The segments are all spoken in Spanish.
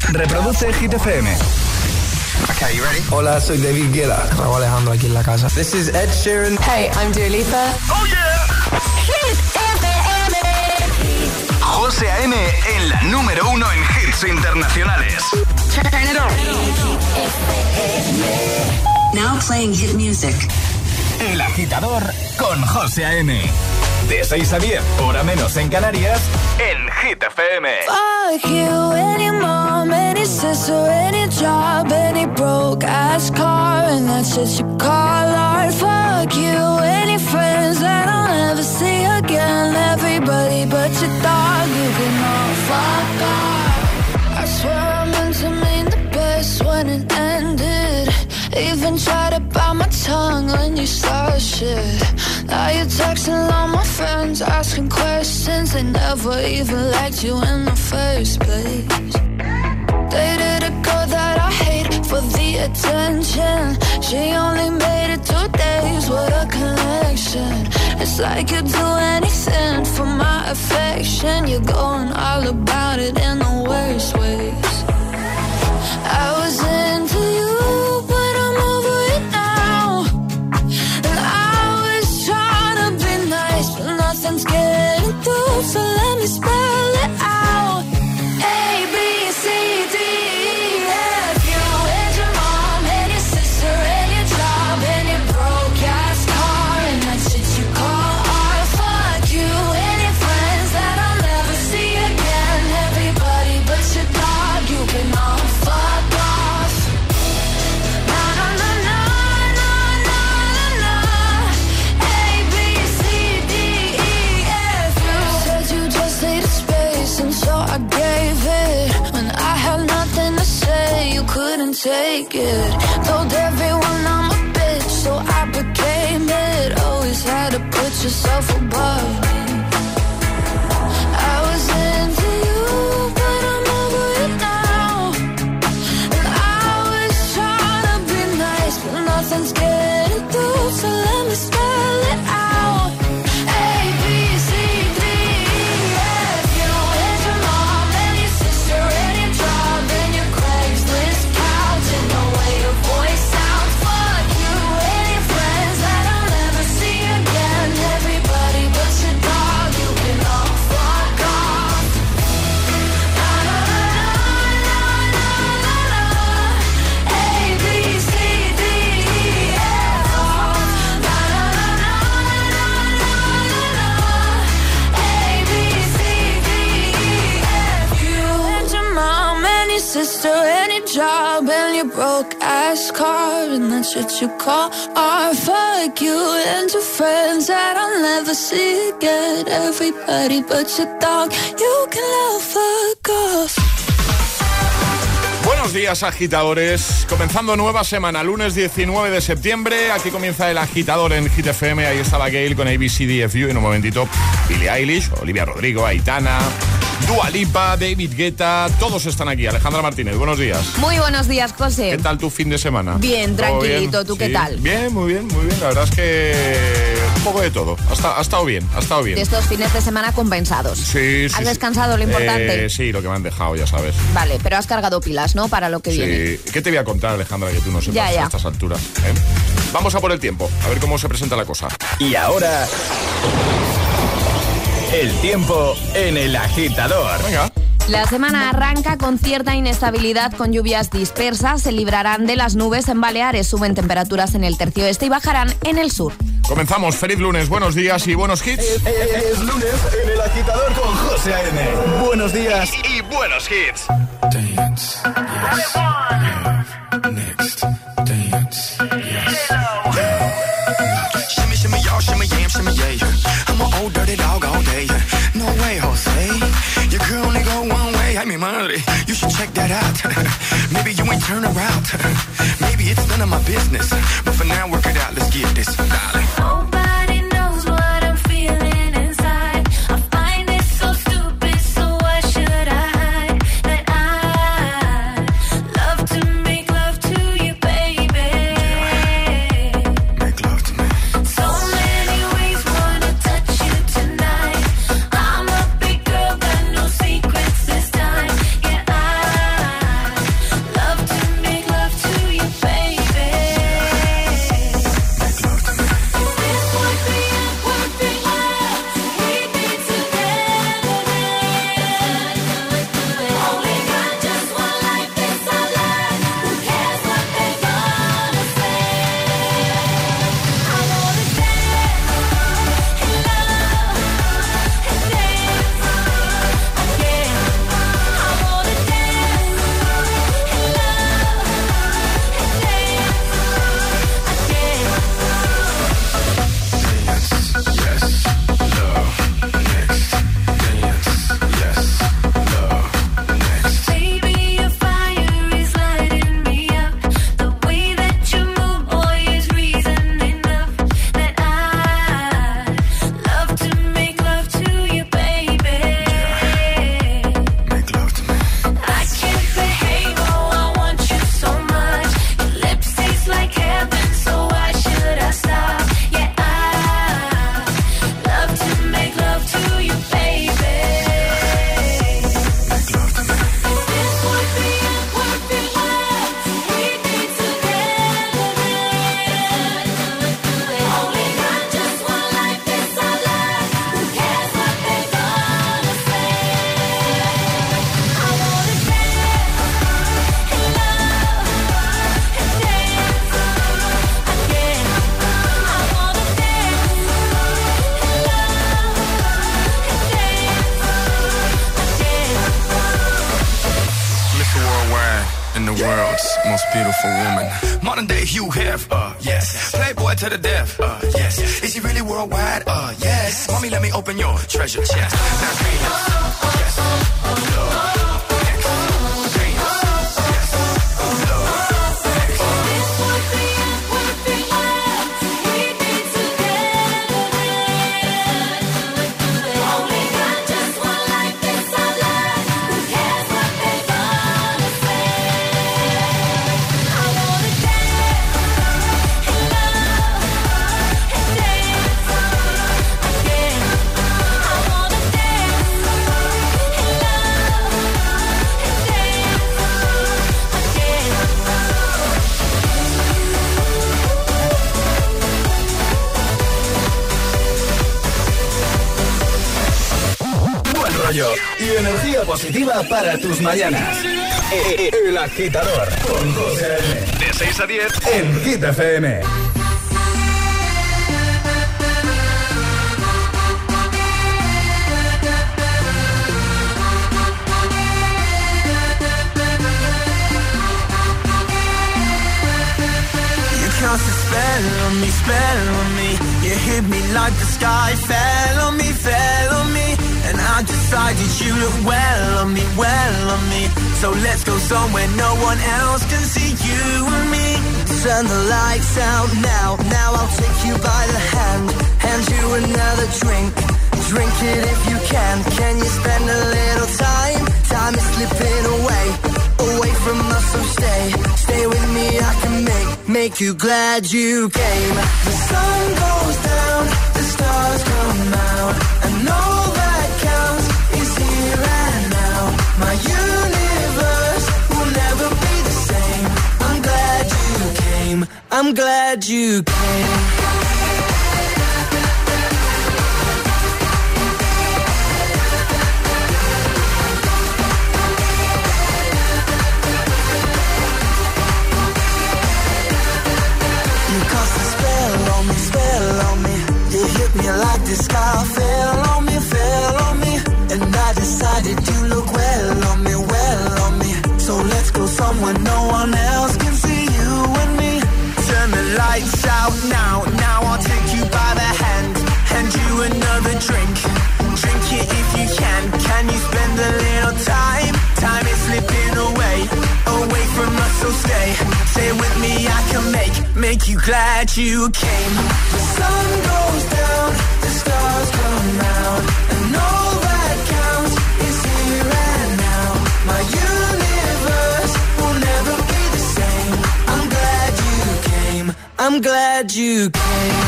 Reproduce Hit FM. Okay, you ready? Hola, soy David Guetta. Raúl Alejandro aquí en la casa. This is Ed Sheeran. Hey, I'm Dua Lipa. ¡Oh, yeah! Hit FM. José A.M. en la número 1 en hits internacionales. Turn it on. Now playing hit music. El Agitador con José A.M. De 6 a 10, hora menos en Canarias, en Hit FM. Fuck you, any mom, any sister, any job, any broke ass car, and that's shit you call art. Fuck you, any friends that I'll never see again. Everybody but your dog, you can all fuck off. I swear I meant to mean the best when it ended. Even tried to bite my tongue when you started shit. Now you're texting all my friends, asking questions. They never even liked you in the first place. Dated a girl that I hate for the attention. She only made it 2 days, what a connection. It's like you'd do anything for my affection. You're going all about it in the worst ways. I was into you, but I'm over it now. And I was trying to be nice, but nothing's getting through. So let me spell it out. A, B, C, D, E, F. You and your mom and your sister and your job and your broke ass car and that shit you call art. Fuck you and your friends that I'll never see again. Everybody but your dog, you can all fuck off. Na na na na na na na na. A, B, C, D, E, F. You said you just needed space, and so I gave it. When I had nothing to say, you couldn't take it. Told everyone I'm a bitch, so I became it. Always had to put yourself above me. I was into you, but I'm over it now. And I was trying to be nice, but nothing's getting through. So let me spell it out. A, B, C, D, E, F. You and your mom and your sister and your job and your Craigslist couch and the way your voice sounds. Fuck you and your friends that I'll never see again. Everybody but your dog, you can all fuck off. Na na na na na na na. A, B, C, D, E, F. Na na na na na na na. A, B, C, D, E, F. You and your mom and your sister and your job and your broke ass car and that shit you call art. Fuck you and your friends that I'll never see again. Everybody but your dog, you can all fuck off. Buenos días, agitadores. Comenzando nueva semana, lunes 19 de septiembre. Aquí comienza el agitador en Hit FM. Ahí estaba Gail con ABCDFU. En un momentito, Billie Eilish, Olivia Rodrigo, Aitana, Dua Lipa, David Guetta. Todos están aquí. Alejandra Martínez, buenos días. Muy buenos días, José. ¿Qué tal tu fin de semana? Bien, tranquilito. Bien? ¿Tú qué Sí. tal? Bien, muy bien, muy bien. La verdad es que un poco de todo. Ha estado bien, ha estado bien. De estos fines de semana compensados. Sí, sí. ¿Has descansado, lo importante? Sí, lo que me han dejado, ya sabes. Vale, pero has cargado pilas, ¿no? Para lo que viene. Sí. ¿Qué te voy a contar, Alejandra, que tú no sepas Ya. a estas alturas? Vamos a por el tiempo, a ver cómo se presenta la cosa. Y ahora, el tiempo en el agitador. Venga. La semana arranca con cierta inestabilidad, con lluvias dispersas. Se librarán de las nubes en Baleares, suben temperaturas en el tercio este y bajarán en el sur. Comenzamos, feliz lunes, buenos días y buenos hits. Es lunes en el agitador con José A.M. Buenos días y buenos hits. Dance, yes, yeah. Next, dance, yes, yeah. Shimmy, shimmy, y'all, shimmy, yam, shimmy, yeah. I'm an old dirty dog all day. No way, Jose. Your girl only go one way. Ay, mi madre, you should check that out. Maybe you ain't turn around. Maybe it's none of my business. But for now, work it out. Let's get this, darling. Nobody knows what I'm feeling inside. I find it so stupid, so why should I hide that I love to make love to you, baby? Make love to me. So many ways, wanna touch you tonight. I'm a big girl, got no secrets this time. Yeah, I and the world's most beautiful woman. Modern day Hugh Hef, yes. Playboy to the death, yes. Is he really worldwide? Yes. Mommy, let me open your treasure chest. Now, yes. Y energía positiva para tus mañanas. El Agitador con José A.M. De 6 a 10 en Hit FM. Cast a spell on me. You hit me like the sky fell on me. And I decided you look well on me. So let's go somewhere no one else can see you and me. Turn the lights out now. Now I'll take you by the hand you another drink. Drink it if you can. Can you spend a little time? Time is slipping away from us, so stay with me. I can make you glad you came. The sun goes down, the stars come out, and all that counts is here and now. My universe will never be the same. I'm glad you came. I'm glad you came. You like the sky fell on me, and I decided you look well on me. So let's go somewhere no one else can see you and me. Turn the lights out now. Now I'll take you by the hand you another drink. Drink it if you can. Can you spend a little time? Time is slipping away from us, so stay with me. I can make you glad you came. The sun goes down, the stars come out, and all that counts is here and now. My universe will never be the same. I'm glad you came. I'm glad you came.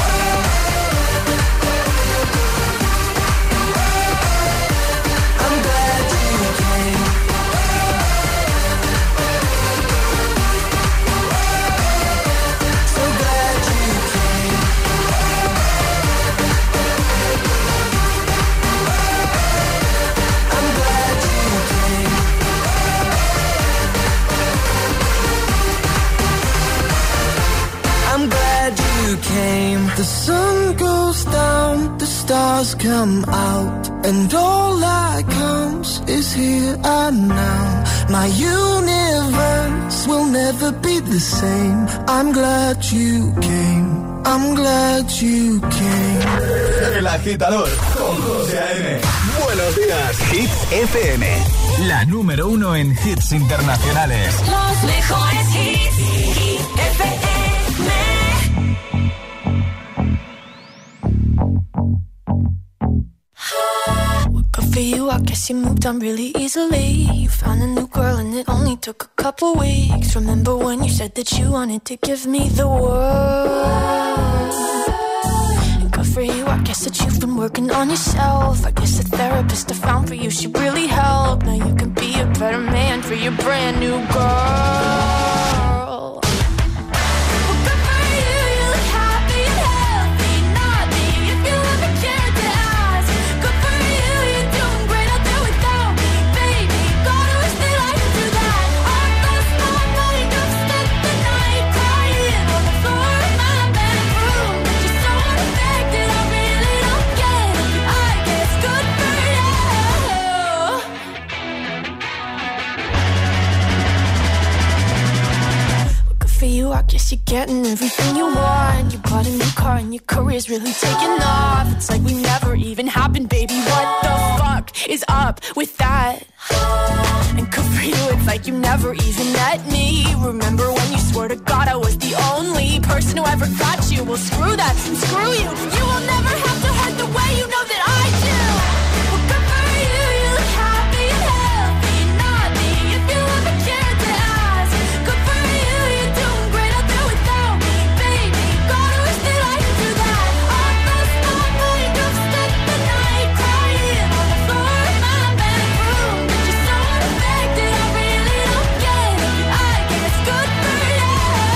The sun goes down, the stars come out, and all that counts is here and now. My universe will never be the same. I'm glad you came. I'm glad you came. El Agitador con José A.M. Buenos días, Hits FM. La número 1 en hits internacionales. Los mejores hits, Hit FM. For you, I guess you moved on really easily. You found a new girl and it only took a couple weeks. Remember when you said that you wanted to give me the world? And good for you, I guess that you've been working on yourself. I guess the therapist I found for you, she really helped. Now you can be a better man for your brand new girl. guess you're getting everything you want. You bought a new car and your career's really taking off. It's like we never even happened, baby. What the fuck is up with that? And good for you, it's like you never even met me. Remember when you swore to God I was the only person who ever got you? Well, screw that and screw you. You will never have to hurt the way you know that I do. Well, good for you, you look happy and healthy. Not me, if you ever cared to ask. Good for you, you're doing great out there without me, baby. God, I wish that I could do that. I lost my mind, I've spent the night crying on the floor of my bedroom. But you're so unaffected, I really don't get it. I guess good for you.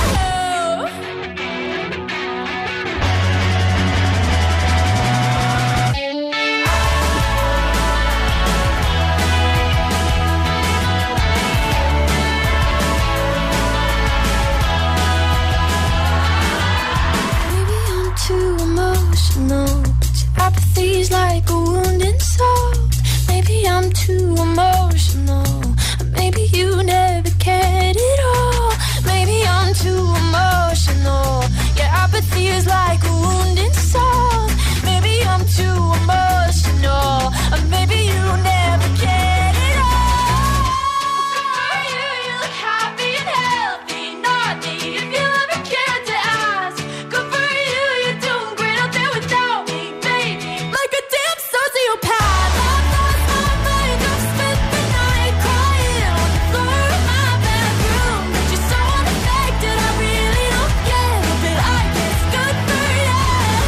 Maybe I'm too emotional, but your apathy's like a wounded soul. Maybe I'm too emotional, or maybe you never cared at all. Maybe I'm too emotional, your apathy is like a wounded soul. Maybe I'm too emotional, or maybe you never cared at all. You look happy and healthy, not me, if you ever cared to ask. Good for you, you're doing great out there without me, baby. Like a damn sociopath. I've lost my mind, I've spent the night crying on the floor of my bedroom. But you're so unaffected, I really don't get it. But I guess good for you.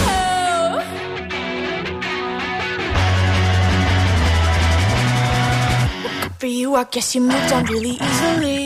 Good for you, I guess you moved on really easily.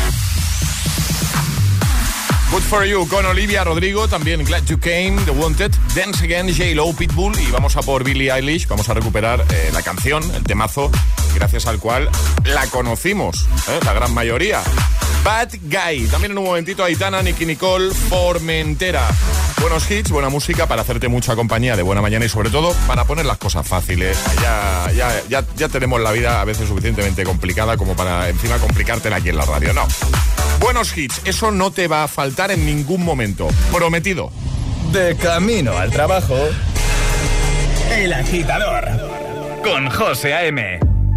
Good for You con Olivia Rodrigo, también Glad You Came, The Wanted, Dance Again, J-Lo, Pitbull, y vamos a por Billie Eilish. Vamos a recuperar la canción, el temazo, gracias al cual la conocimos, la gran mayoría. Bad Guy. También en un momentito Aitana, Nicki Nicole, Formentera. Buenos hits, buena música para hacerte mucha compañía de buena mañana y sobre todo para poner las cosas fáciles. Ya tenemos la vida a veces suficientemente complicada como para encima complicártela aquí en la radio. No. Buenos hits, eso no te va a faltar en ningún momento. Prometido. De camino al trabajo, El Agitador con José A.M.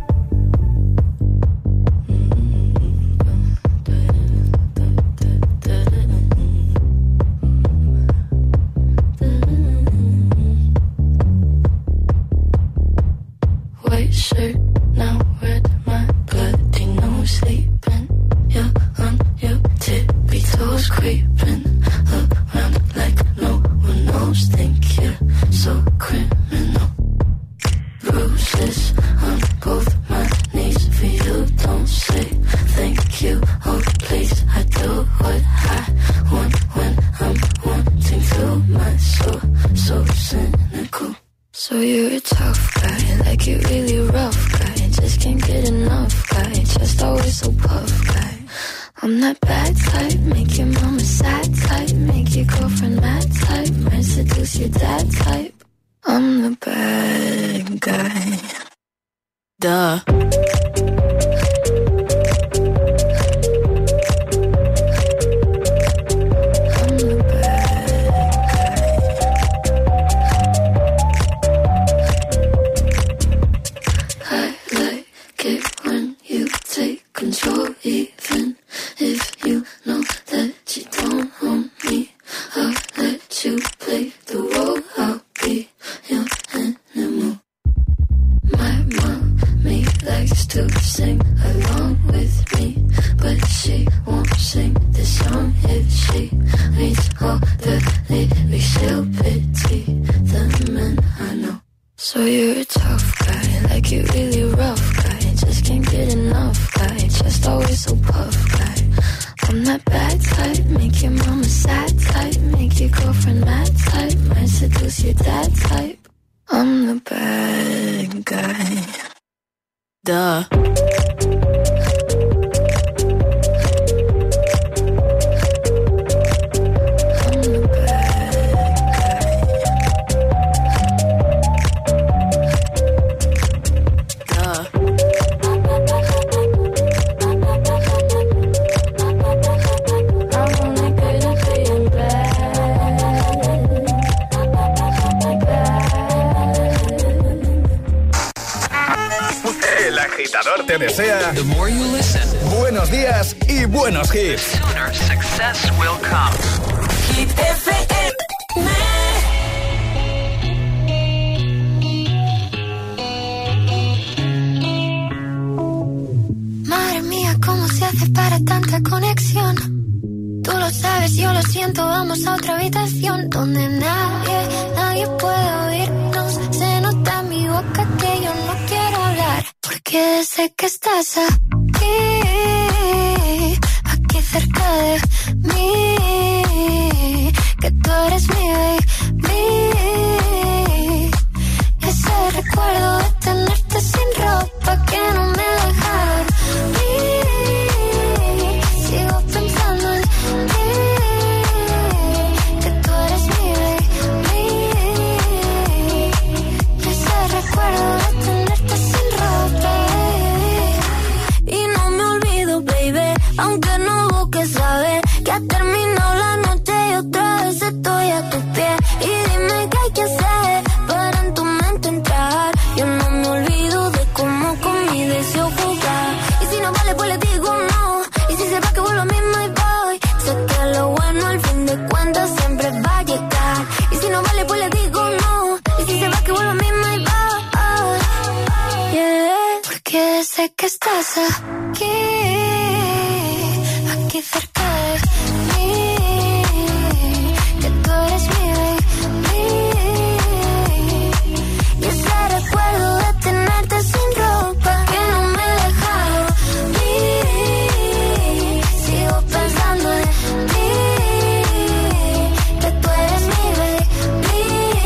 White shirt, now red, my bloody nose sleeping. You're on your tippy toes, creeping around like no one knows. Think you're so criminal. Bruises on both my knees for you. Don't say thank you. Oh please, I do what I want when I'm wanting to. My soul, so cynical. So you're a tough guy, like you really rough guy. Just can't get enough guy, just always so puff guy. I'm that bad type, make your mama sad type, make your girlfriend mad type, might seduce your dad type. I'm the bad guy. Duh. Control, even if you know that you don't own me. I'll let you play the role. I'll be your animal. My mommy likes to sing along with me, but she won't sing this song if she reads all the lyrics. She'll pity the men I know. So you're a tough guy, like you really rough guy. Just can't get enough guy, just always so puff guy. I'm that bad type, make your mama sad type, make your girlfriend mad type, might seduce your dad type. I'm the bad guy. Duh. I'm only good at te desea The more you listen, buenos días y buenos hits. the sooner success will come. Hit FM. Madre mía, ¿cómo se hace para tanta conexión? Tú lo sabes, yo lo siento, vamos a otra habitación donde nadie puede oírnos. Se nota en mi boca que yo no quiero hablar, porque sé que estás aquí cerca de mí, que tú eres mi baby. Ese recuerdo de tenerte sin ropa que no me deja dormir. Sigo pensando en ti, que tú eres mi baby. Ese recuerdo de tenerte sin ropa. Y no me olvido, baby, aunque no busques saber que ha terminado la noche y otra vez estoy a tus pies. Y dime qué hay que hacer para en tu mente entrar. Yo no me olvido de cómo con mi deseo jugar. Y si no vale, pues le digo no. Y si se va, que vuelvo a mí, my boy. Sé que lo bueno al fin de cuentas siempre va a llegar. Y si no vale, pues le digo no. Y si se va, que vuelvo a mí, my boy. Yeah, porque sé que estás aquí cerca de mí, que tú eres mi baby. Y ese recuerdo de tenerte sin ropa que no me deja dormir. Sigo pensando en ti, que tú eres mi baby.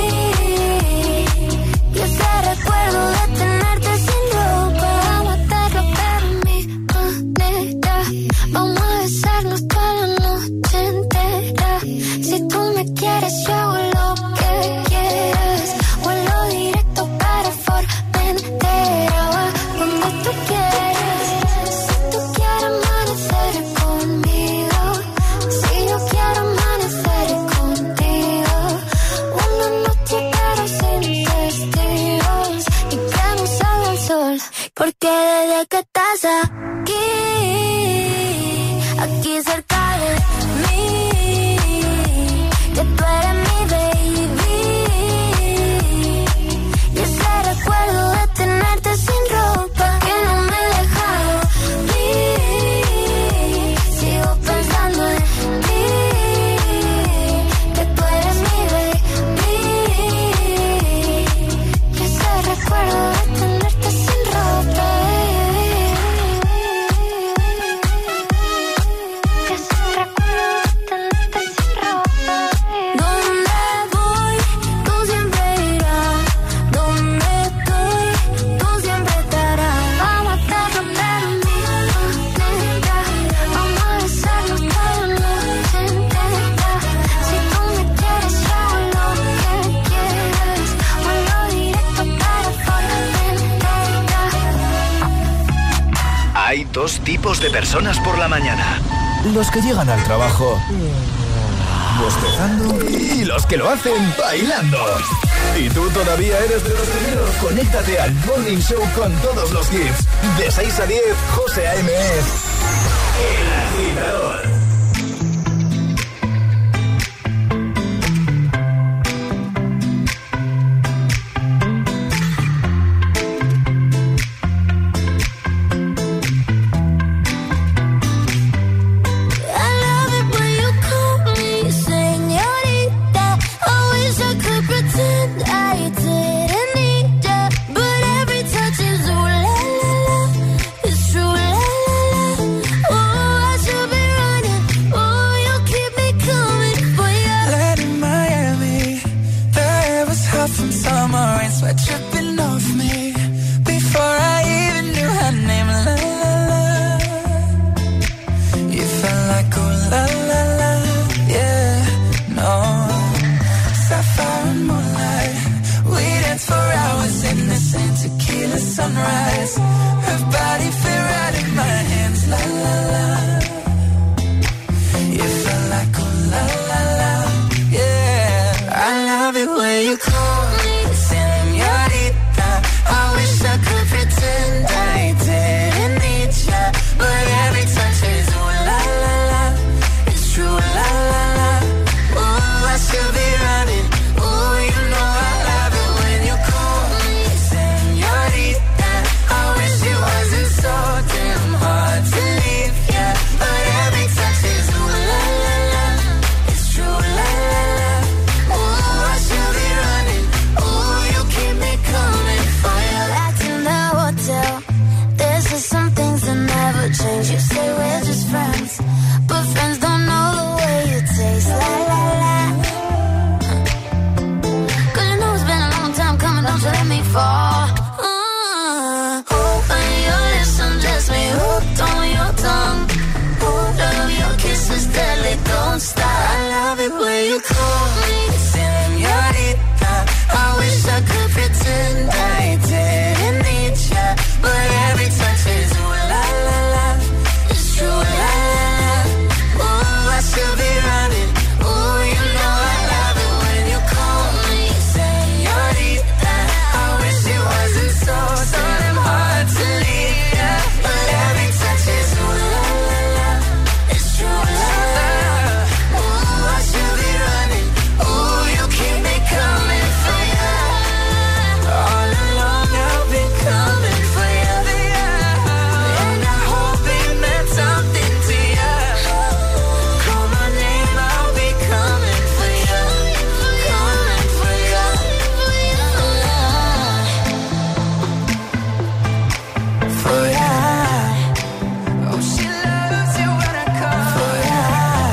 Y ese recuerdo de tenerte sin ropa. Vamos a hacerlo pero mi manera. Vamos a besarnos toda la noche entera. Si tú me quieres, yo hago lo que quieras. Vuelo directo para Formentera. Va donde tú quieras. Si tú quieres amanecer conmigo, si yo quiero amanecer contigo. Una noche pero sin testigos y que no salga el sol. Porque desde que estás aquí cerca de mí, que tú eres mi baby. Y ese recuerdo de tenerte sin ropa que no me deja dormir. Sigo pensando en ti, que tú eres mi baby. Y ese recuerdo de tenerte sin ropa. Donde voy, tú siempre irás. Donde estoy, tú siempre estarás. Vamos a hacerlo pero mi manera. Vamos a besarnos toda la noche entera. Si tú me quieres, yo hago lo que quieras. Vuelo directo para Formentera. Hay dos tipos de personas por la mañana. Los que llegan al trabajo bostezando Y los que lo hacen bailando. ¿Y tú todavía eres de los primeros? Conéctate al Morning Show con todos los hits. De 6 a 10, José A.M. es El Agitador. I love it when you call me señorita. I wish I could pretend I didn't need ya, but every touch is ooh la la la. It's true la la la. friends, but friends don't know the way it tastes. La la la. 'Cause you know it's been a long time coming, don't you let me fall. Open your lips and just me hooked on your tongue. Love your kisses deadly, don't stop. I love it when you call me señorita. I wish I could pretend I didn't need ya, but every touch is ooh la la la. It's true la la la. Ooh, I should be running. Ooh, you know I love it when you call me señorita. I wish it wasn't so damn hard to leave ya, but every touch is ooh la la la. It's true la la. Ooh, I should be running. Ooh, you keep me coming for ya. All along I've been coming for ya, and I hope it meant something to ya. Call my name, I'll be coming for ya, coming for ya, for ya. Oh, she loves you when I call for ya.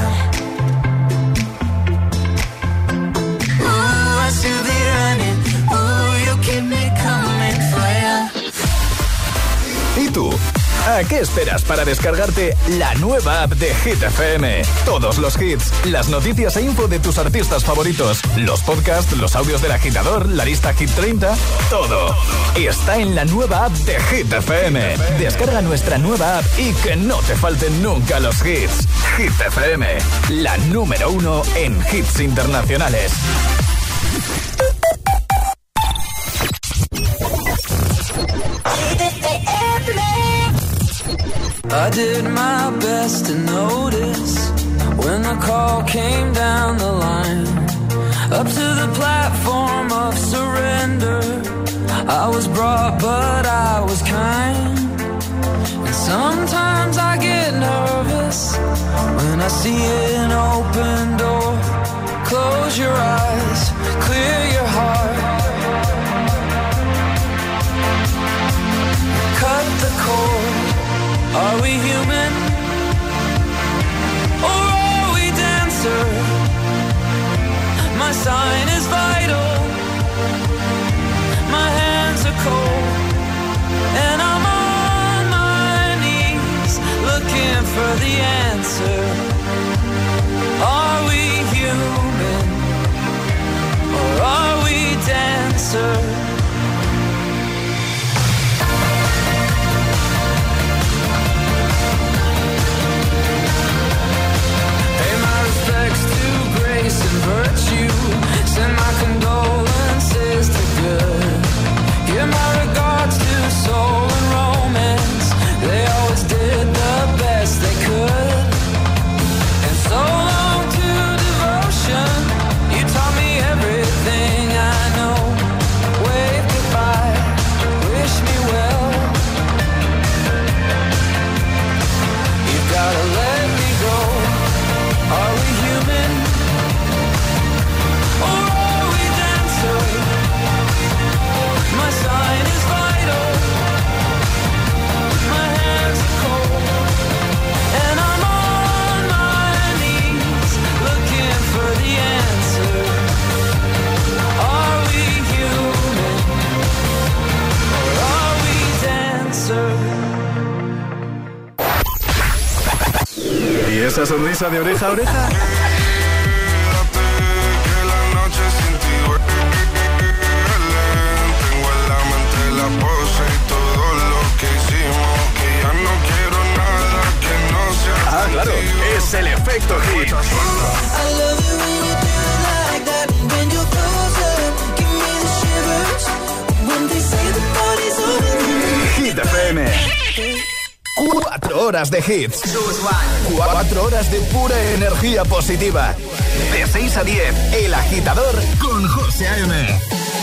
Ooh, I should be running. Ooh, you keep me coming for ya. ¿Y tú? ¿A qué esperas para descargarte la nueva app de Hit FM? Todos los hits, las noticias e info de tus artistas favoritos, los podcasts, los audios del agitador, la lista Hit 30, todo. Está en la nueva app de Hit FM. Descarga nuestra nueva app y que no te falten nunca los hits. Hit FM, la número 1 en hits internacionales. I did my best to notice when the call came down the line. Up to the platform of surrender, I was brought but I was kind. And sometimes I get nervous when I see an open door. Close your eyes, clear your heart. Cut the cord. Are we human, or are we dancer? My sign is vital, my hands are cold, and I'm on my knees looking for the answer. Are we human, or are we dancer? And virtue, send my condolences to good. Give my regards to soul and romance. They always did the best they could. And so long to devotion. You taught me everything I know. Wave goodbye, wish me well. You've gotta let me go. Are we human? My sign is vital, my hands are cold, and I'm on my knees looking for the answer. Are we human, or are we dancer? ¿Y esa sonrisa de oreja a oreja? Ah, claro, es el efecto hit. Hit FM. 4 horas de hits. 4 horas de pura energía positiva. De 6 a 10, El Agitador con José A.M.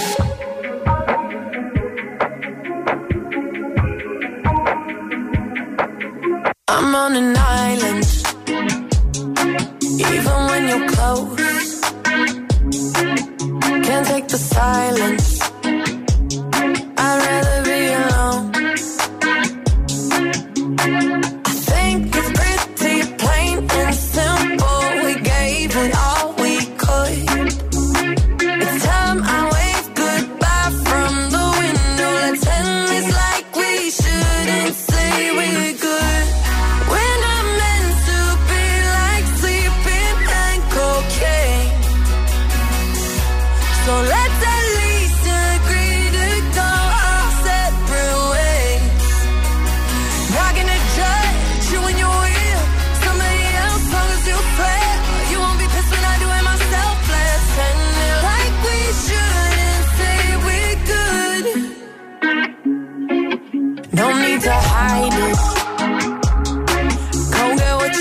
I'm on an island, even when you're close. Can't take the silence, I'd rather be alone. I think it's pretty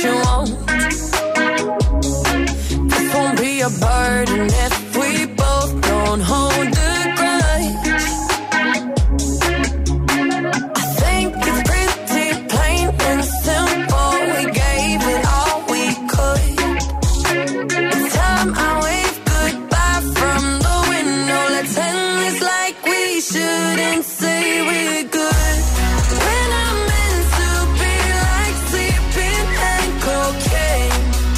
you want. This won't be a burden if we both don't hold the grudge. I think it's pretty plain and simple. We gave it all we could. It's time I wave goodbye from the window. Let's end this like we shouldn't say we're good. When I'm meant to be like sleeping and cocaine.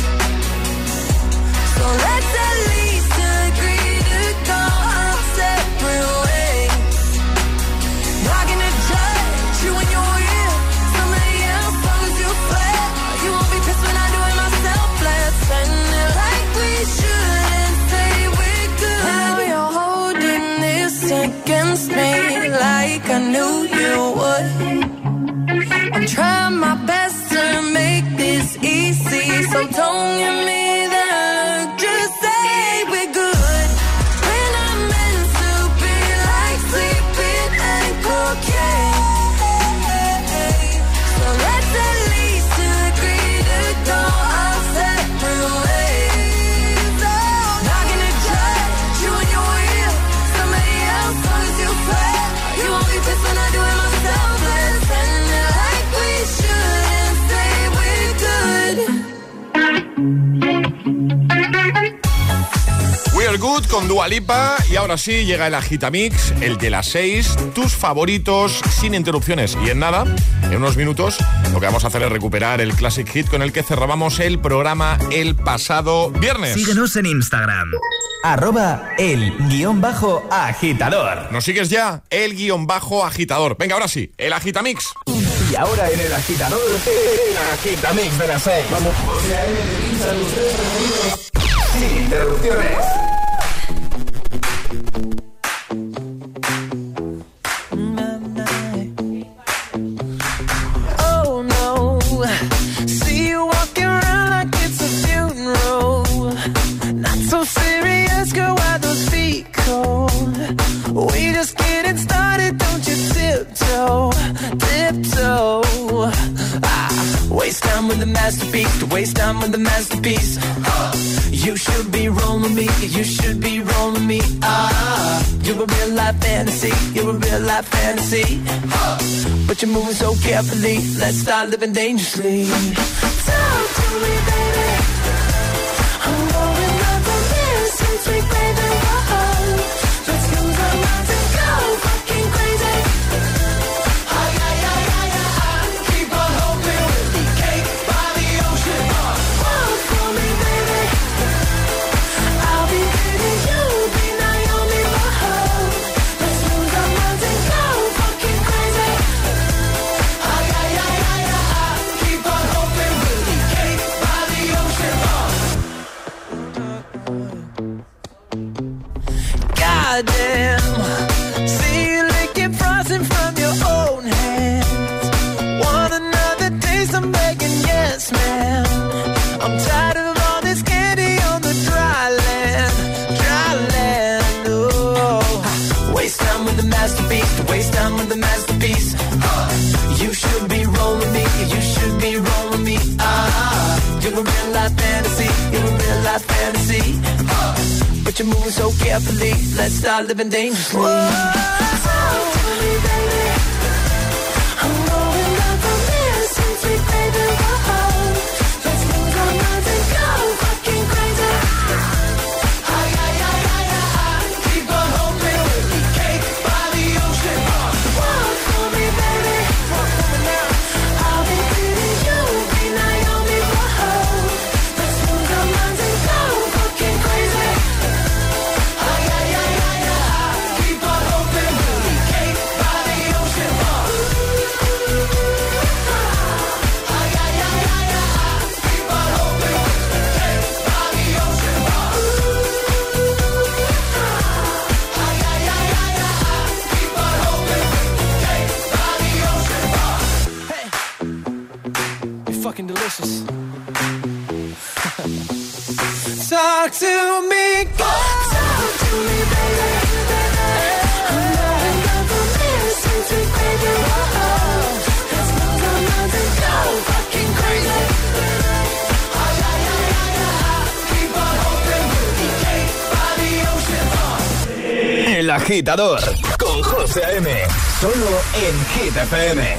So let's at least agree to go our separate ways. Not gonna judge you when you're with somebody else, long as you swear. You won't be pissed when I do it myself. Let's end it like we shouldn't say we're good. Now you're holding this against me like I knew you would. I'm trying my best to make this easy, so don't give me that. Just say we're good. When I'm meant to be like sleeping and cocaine. So let's at least agree to go our separate ways. Oh, not gonna judge you when you're with somebody else, long as you swear. You won't be pissed when I do it myself. Let's end it like we shouldn't say we're good. We Are Good con Dua Lipa. Y ahora sí, llega el Agitamix, el de las 6. Tus favoritos, sin interrupciones. Y en nada, en unos minutos, lo que vamos a hacer es recuperar el Classic Hit con el que cerrábamos el programa el pasado viernes. Síguenos en Instagram. @el_agitador. ¿Nos sigues ya? El_agitador. Venga, ahora sí, el Agitamix. Y ahora en el agitador, el Agitamix de las 6. Vamos, José A.M. los tres preferidos sin interrupciones. Oh no, see you walking around like it's a funeral. Not so serious, girl, why those feet cold? We just getting started, don't you tiptoe, tiptoe. Waste time with the masterpiece, waste time with the masterpiece. You should be rolling me, you should be rolling me. You're a real life fantasy, you're a real life fantasy. But you're moving so carefully, let's start living dangerously. Talk to me, baby. I'm rolling up the mirror since we played the road. Let's lose our minds and go fucking crazy. Keep on hoping we'll be cake by the ocean. Walk for me, baby. I'll be pretty, you'll be Naomi Mahone. Let's lose our minds and go fucking crazy. Keep on hoping we'll be cake by the ocean. Goddamn, see you licking frosting from your own hands. Want another taste? I'm begging, yes, ma'am. I'm tired of all this candy on the dry land, dry land. Oh, waste time with the masterpiece, waste time with the masterpiece. You should be rolling me, you should be rolling me. You're a real life fantasy, you're a real life fantasy. But you're moving so carefully, let's start living dangerously. Whoa, talk to me, baby. I'm rolling up the mirror since we played the road. Let's lose our minds and go fucking crazy. Keep on hoping we'll be cake by the ocean. Walk for me, baby. Walk for me now. I'll be pretty, you'll be Naomi Mahone. Let's lose our minds and go fucking crazy. Keep on hoping we'll be cake by the ocean. Keep on hoping we'll be cake by the ocean. Keep on hoping we'll be cake by the ocean. Hey, you're fucking delicious. Talk to me, talk to me, baby. I'm rolling up the mirror since we played the road. Let's lose our minds and go fucking crazy. El Agitador con José A.M. Solo en Hit FM.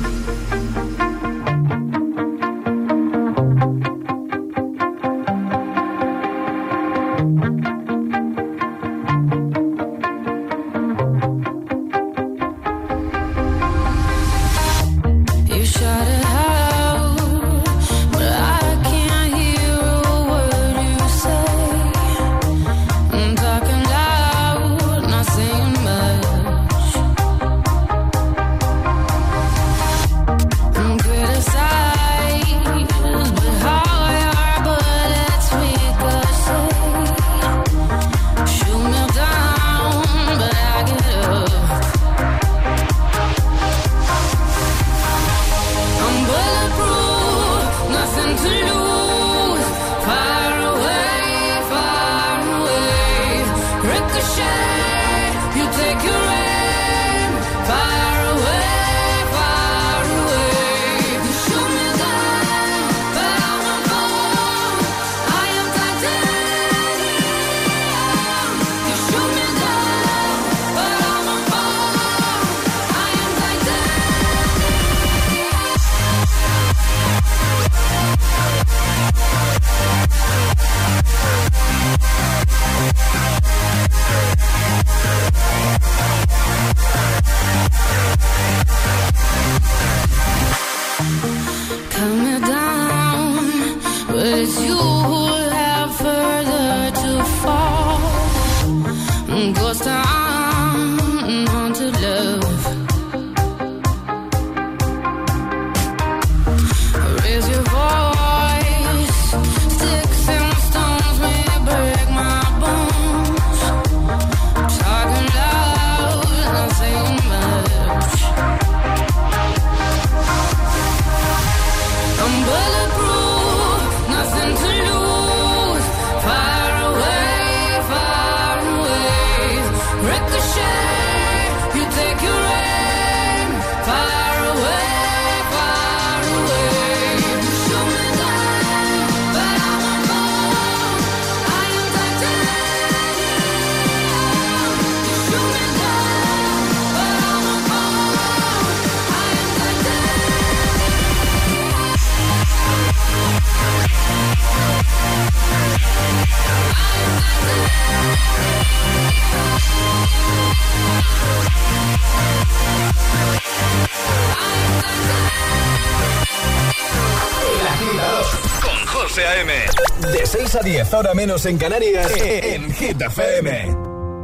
José A.M. De 6 a 10, ahora menos en Canarias, en Hit FM.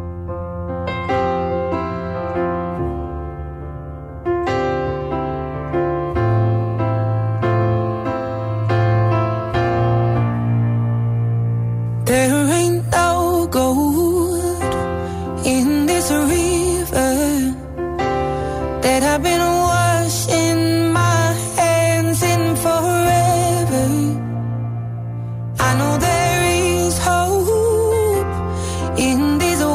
There ain't no gold in this river that I've been washing my hands in forever. I know there is hope in this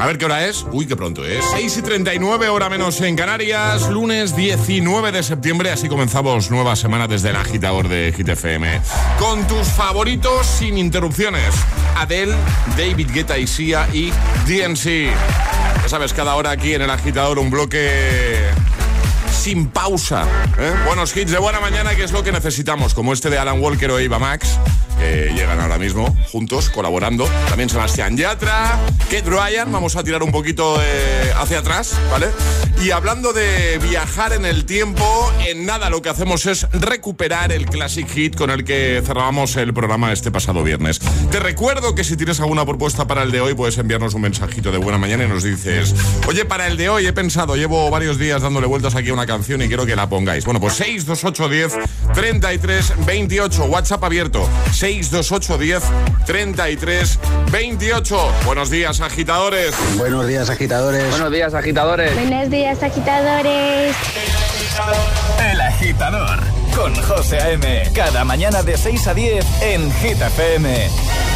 A ver qué hora es. Uy, qué pronto es. 6:39, hora menos en Canarias. Lunes 19 de septiembre. Así comenzamos nueva semana desde el agitador de Hit FM. Con tus favoritos sin interrupciones. Adele, David Guetta y Sia y DNC. Ya sabes, cada hora aquí en el agitador un bloque sin pausa, ¿eh? Buenos hits de buena mañana, que es lo que necesitamos, como este de Alan Walker o Eva Max, que llegan ahora mismo juntos, colaborando. También Sebastián Yatra, Kate Ryan. Vamos a tirar un poquito hacia atrás, ¿vale? Y hablando de viajar en el tiempo, en nada lo que hacemos es recuperar el classic hit con el que cerrábamos el programa este pasado viernes. Te recuerdo que si tienes alguna propuesta para el de hoy, puedes enviarnos un mensajito de buena mañana y nos dices: oye, para el de hoy he pensado, llevo varios días dándole vueltas aquí a una canción y quiero que la pongáis. Bueno, pues 628 10 33 28, WhatsApp abierto, 628 10 33 28. Buenos días, agitadores. Buenos días, agitadores. Buenos días, agitadores. Buenos días, agitadores. El Agitador con José A.M. Cada mañana de 6 a 10 en Hit FM.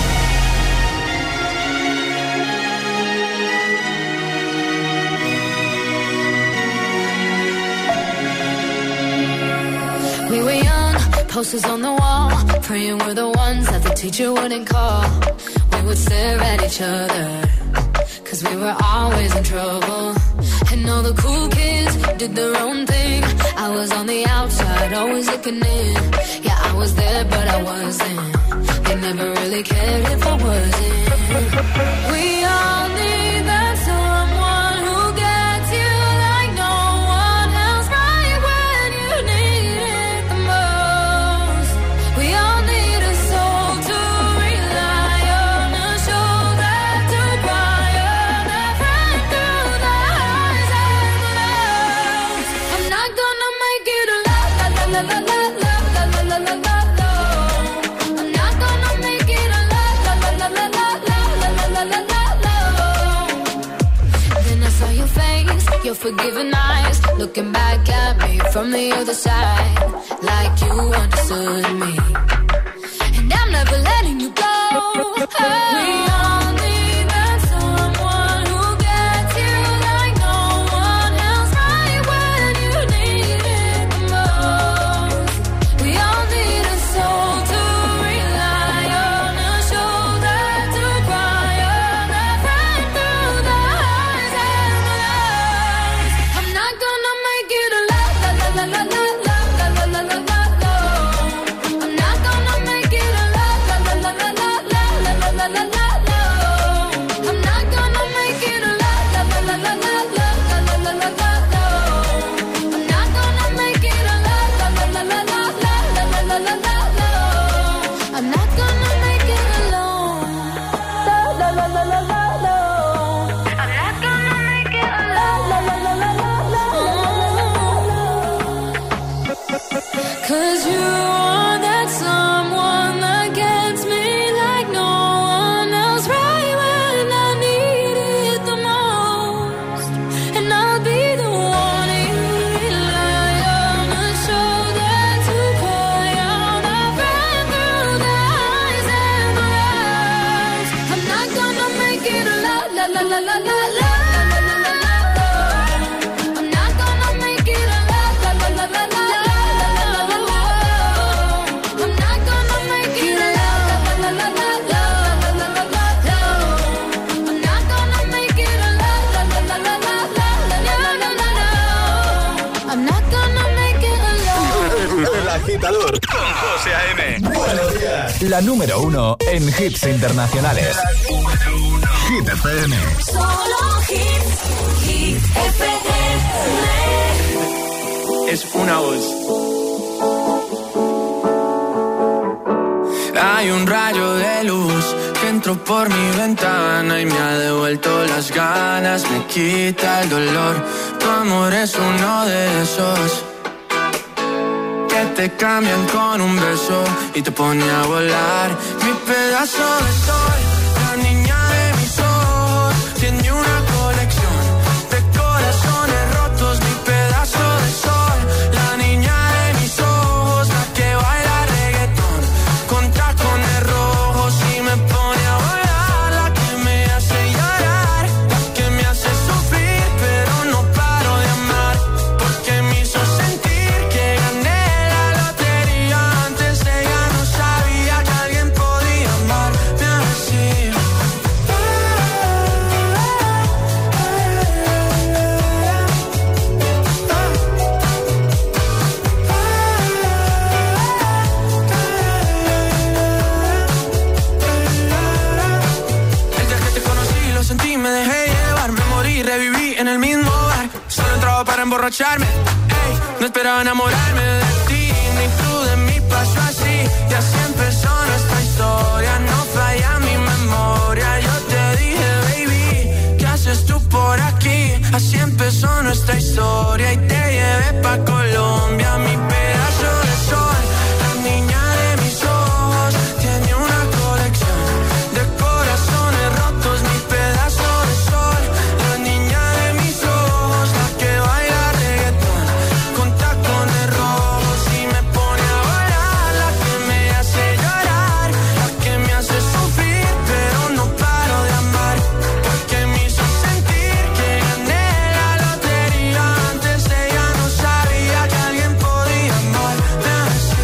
We were young, posters on the wall, praying we're the ones that the teacher wouldn't call. We would stare at each other, cause we were always in trouble. And all the cool kids did their own thing. I was on the outside, always looking in. Yeah, I was there, but I wasn't. They never really cared if I wasn't. We all need that someone who gets you like no one else, right when you need it the most. We all need a soul to rely on, a shoulder to cry on, a friend through the highs and the lows. I'm not gonna make it alone, la la la la la la la la la la la. I'm not gonna make it alone, la la la la la la la la la la. Then I saw your face, your forgiving eyes, looking back at me from the other side, like you understood me. And I'm never letting you go. We all need that someone who gets you like no one else, right when you need it the most. We all need a soul to rely on, a shoulder to cry on, a friend through the highs and the lows. I'm not gonna make it alone, la la la la la la la la la la la. I'm not gonna make it alone, la la la la la la la la la la la. I'm not gonna make it alone, la la la la la la la la la la la. I'm not gonna make it alone, la la la la la la la la la la. I'm not gonna make it alone, la la la la la la. I'm not gonna make it alone, la la la la la la. 'Cause you are that someone that gets me like no one else, right when I need it the most. And I'll be the one you rely on, a shoulder to cry on, a friend through the highs and the lows. I'm not gonna make it alone, la la la la la la. I'm not gonna make it alone, la la la la la. I'm not gonna make it alone, la la la la la la la la. I'm not gonna make it alone, la la la la la la la la. I'm not gonna make it alone. El agitador con José A.M. Buenos días. La número 1 en hits internacionales. Hit FM. Solo hits, Hit FM. Es una voz. Hay un rayo de luz que entró por mi ventana y me ha devuelto las ganas, me quita el dolor. Tu amor es uno de esos que te cambian con un beso y te pone a volar. Mi pedazo de sol, la niña de mis ojos, tiene una colección de corazones rotos. Mi pedazo de sol, la niña de mis ojos, la que baila reggaetón con tacones rojos y me pone a volar. La que me hace llorar, la que en el mismo bar, solo entraba para emborracharme. Ey, no esperaba enamorarme de ti, ni tú de mí, pasó así. Y así empezó nuestra historia, no falla mi memoria. Yo te dije, baby, ¿qué haces tú por aquí? Así empezó nuestra historia y te llevé pa' Colombia, mi pedazo de sol. La niña de mis ojos tiene una colección de corazones rotos, mi pedazo de sol. La niña de mis ojos, la que baila reggaetón con tacones rojos y me pone a bailar, la que me hace llorar, la que me hace sufrir, pero no paro de amar, porque me hizo sentir que gané la lotería. Antes ella no sabía que alguien podía amarme así.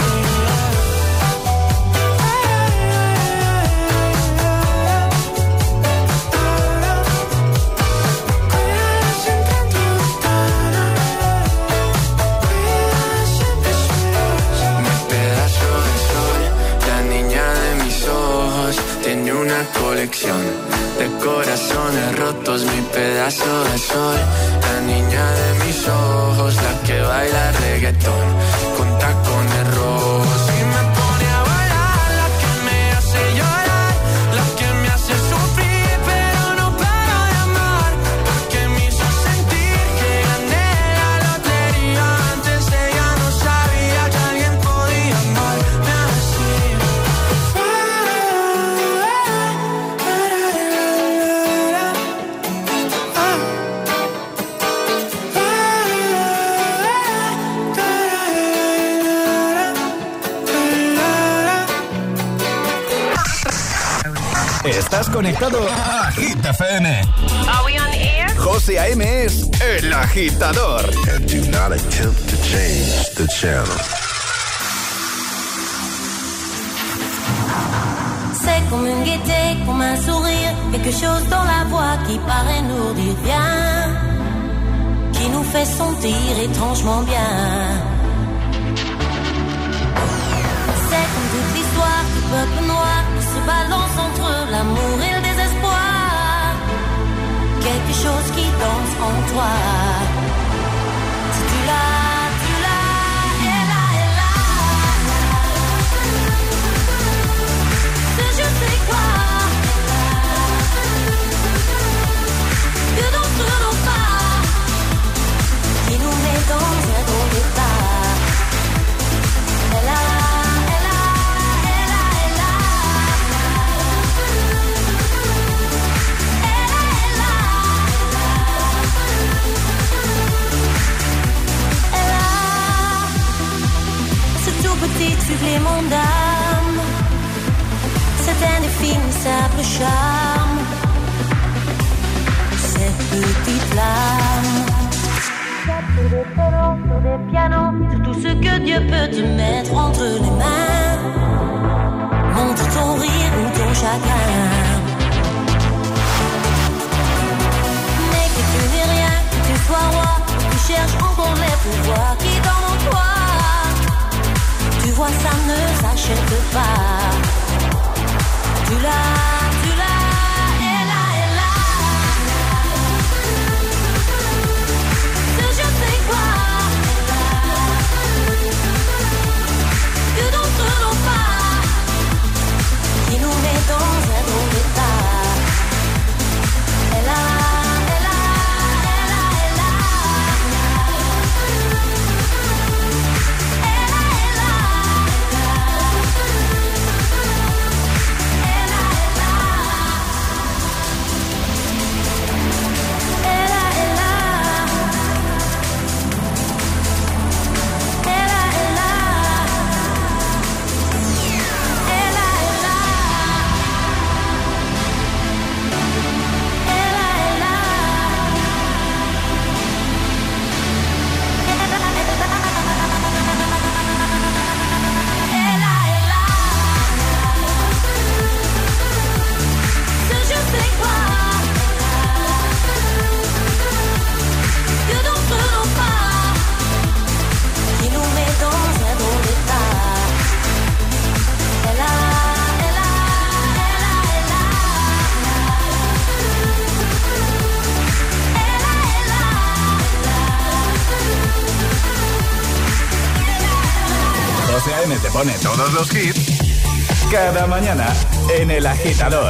Mi pedazo de sol, la niña de mis ojos, tiene una colección de corazones rotos, mi pedazo de sol. La niña de mis ojos, la que baila reggaetón con tacones rojos y me pone a bailar, la que me hace llorar, la que me hace sufrir, pero no paro de amar, porque me hizo sentir que gané la lotería. Antes ella no sabía que alguien podía amarme así. Estás conectado a Hit FM. Are we on air? José A.M. es el agitador. And do not attempt to change the channel. C'est comme une gaieté, comme un sourire, quelque chose dans la voix qui paraît nous dire bien, qui nous fait sentir étrangement bien. C'est comme toute l'histoire du peuple noir qui se balance entre l'amour et le désespoir, quelque chose qui danse en toi. Si tu l'as, elle a. Je sais quoi, que d'entre nos pas, qui nous met dans un drôle d'état. Elle a. Ce tout petit supplément d'âme, c'est un indéfinissable charme, cette petite flamme. Sur des violons, sur des pianos, sur tout ce que Dieu peut te mettre entre les mains. Montre ton rire ou ton chagrin, mais que tu n'es rien, que tu sois roi, tu cherches encore les pouvoirs qui dorment en toi. Tu vois, ça ne s'achète pas. Tu l'as, elle a. Ce je sais quoi, que d'entre nos pas, qui nous met dans un drôle d'état. Elle a. Elle a. te pone todos los hits cada mañana en El Agitador.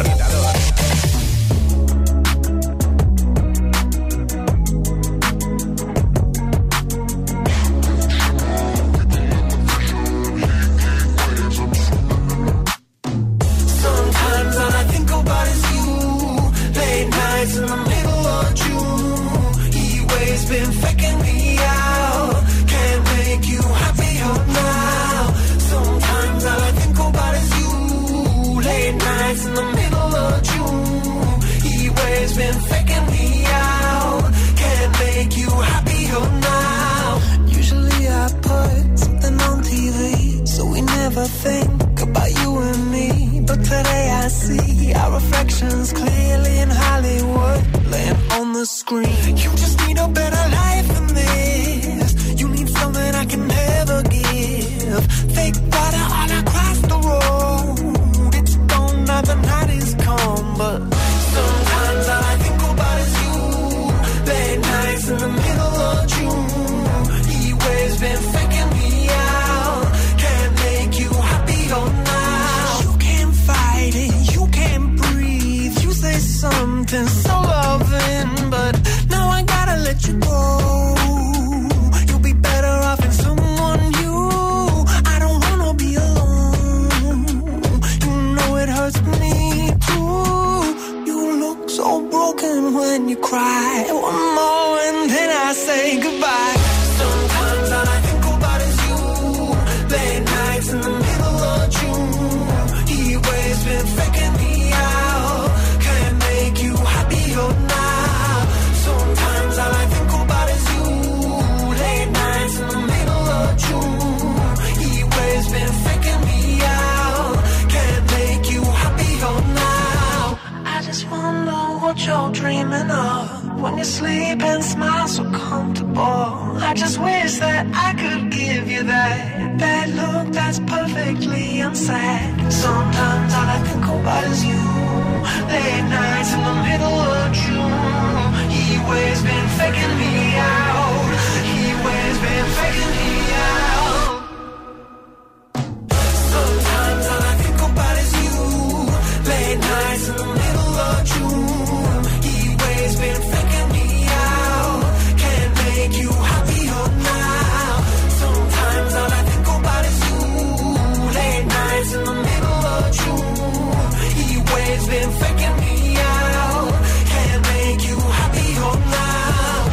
Been faking me out, can't make you happier now. Sometimes all I think about is you. Late nights in the middle of June. He waves been faking me out, can't make you happier now. Usually I put something on TV, so we never think about you and me. But today I see our reflections clearly in Hollywood, laying on the screen. You just need a better life than this. You need something I can never give. Fake water all across the road. It's gone now, the night is come. But sometimes all I think about is you. Late nights in the middle of June. He waves been faking me out, can't make you happier now. You can't fight it, you can't breathe. You say something so loving, but now I gotta let you go. You'll be better off in someone new. I don't wanna be alone. You know it hurts me too. You look so broken when you cry. One more and then I say goodbye. Sometimes all I think about is you. Late nights in the middle of June. He waves been faking me out, can't make you happier now. Sometimes all I think about is you. Late nights in the middle of June. He waves been faking me out, can't make you happier now. I just wonder what you're dreaming of when you sleep and smile so comfortable. I just wish that I could give you that look that's perfectly unsaid. Sometimes all I think about is you. Late nights in the middle of June. He waves been faking me out. He waves been faking me out. Sometimes all I think about is you. Late nights in the middle of June. He waves been faking me out, can't make you happier now. Sometimes all I think about is you. Late nights in the middle of June. He waves been faking me out, can't make you happier now.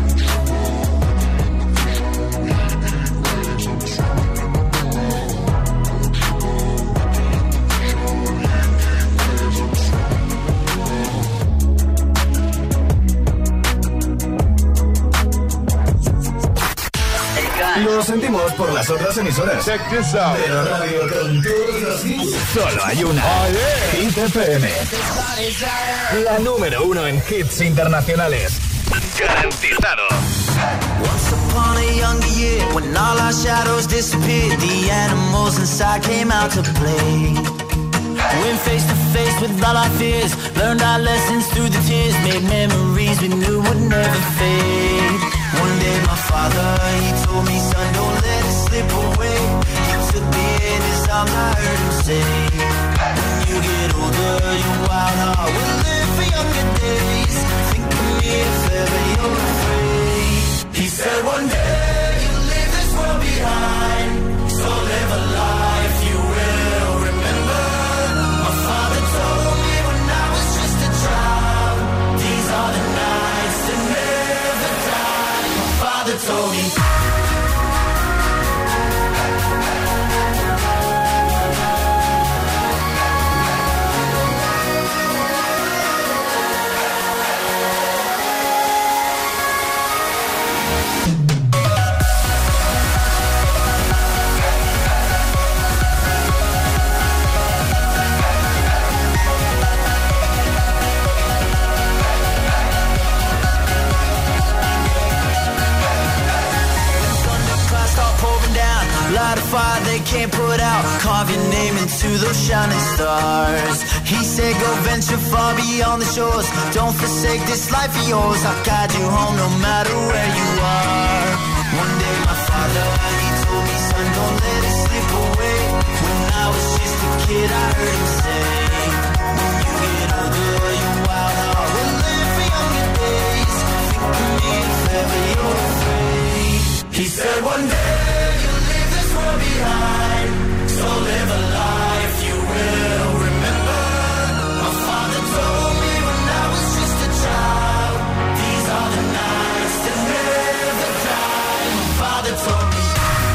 Lo sentimos por las otras emisoras. Check this out. Pero radio con todos los hits. Solo hay una. Hit FM. La número 1 en hits internacionales. Garantizado. Once upon a younger year, when all our shadows disappeared, the animals inside came out to play. Went face to face with all our fears, learned our lessons through the tears, made memories we knew would never fade. One day my father, he told me, son, don't let it slip away. He took me in his arms, I heard him say, when you get older, your wild heart will live for younger days. Think of me if ever you're afraid. He said one day you'll leave this world behind, so live a life you will remember. My father told me when I was just a child, these are the nights that never die. My father told me. Light a fire they can't put out, carve your name into those shining stars. He said go venture far beyond the shores, don't forsake this life of yours. I'll guide you home no matter where you are. One day my father, he told me, son, don't let it slip away. When I was just a kid, I heard him say, when you get older, your wild heart will live for younger days. Think of me if ever you're afraid. He said one day you'll leave this world behind, so live a life you will remember. My father told me when I was just a child, these are the nights that never die. My father told me.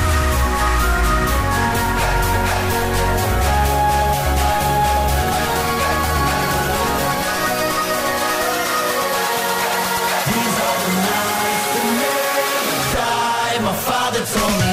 These are the nights that never die. My father told me.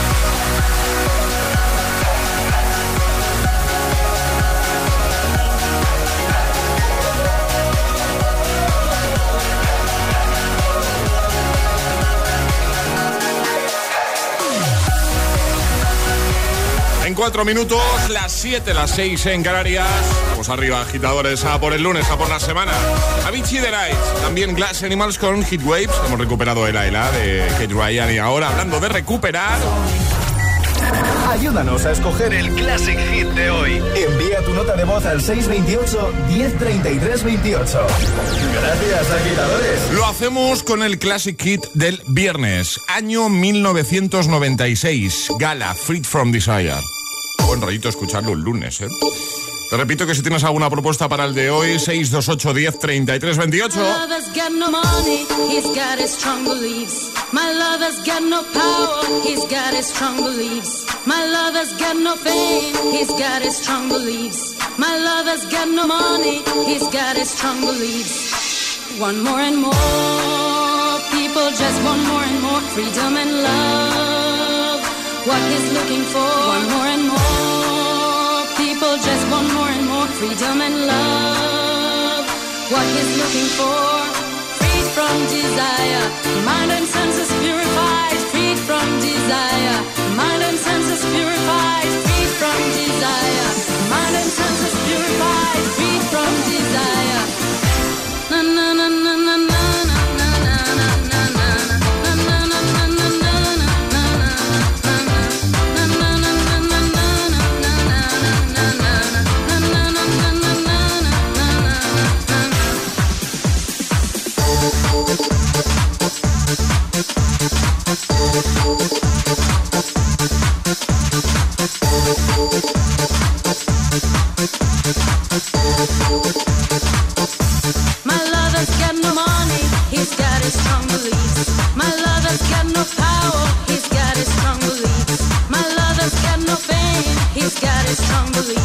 En 4 minutos, las 7, las 6 en Canarias. Vamos arriba, agitadores, a por el lunes, a por la semana. Avicii The Nights, también Glass Animals con Heat Waves. Hemos recuperado Ela Ela de Kate Ryan. Y ahora, hablando de recuperar, ayúdanos a escoger el Classic Hit de hoy. Envía tu nota de voz al 628-103328. Gracias, agitadores. Lo hacemos con el Classic Hit del viernes, año 1996. Gala, Freed from Desire. Buen rollito escucharlo un lunes, ¿eh? Te repito que si tienes alguna propuesta para el de hoy, 628-103328. My lover's got no money, he's got his strong beliefs. My lover's got no power, he's got his strong beliefs. My lover's got no fame, he's got his strong beliefs. My lover's got no money, he's got his strong beliefs. Want more and more, people just want more and more freedom and love. What he's looking for, want more and more, people just want more and more freedom and love. What he's looking for, freed from desire, mind and senses purified, freed from desire, mind and senses purified, freed from desire, mind and senses purified, freed from desire. Na na na na na na. My lover's got no money, he's got his strong beliefs. My lover's got no power, he's got his strong beliefs. My lover's got no fame, he's got his strong beliefs.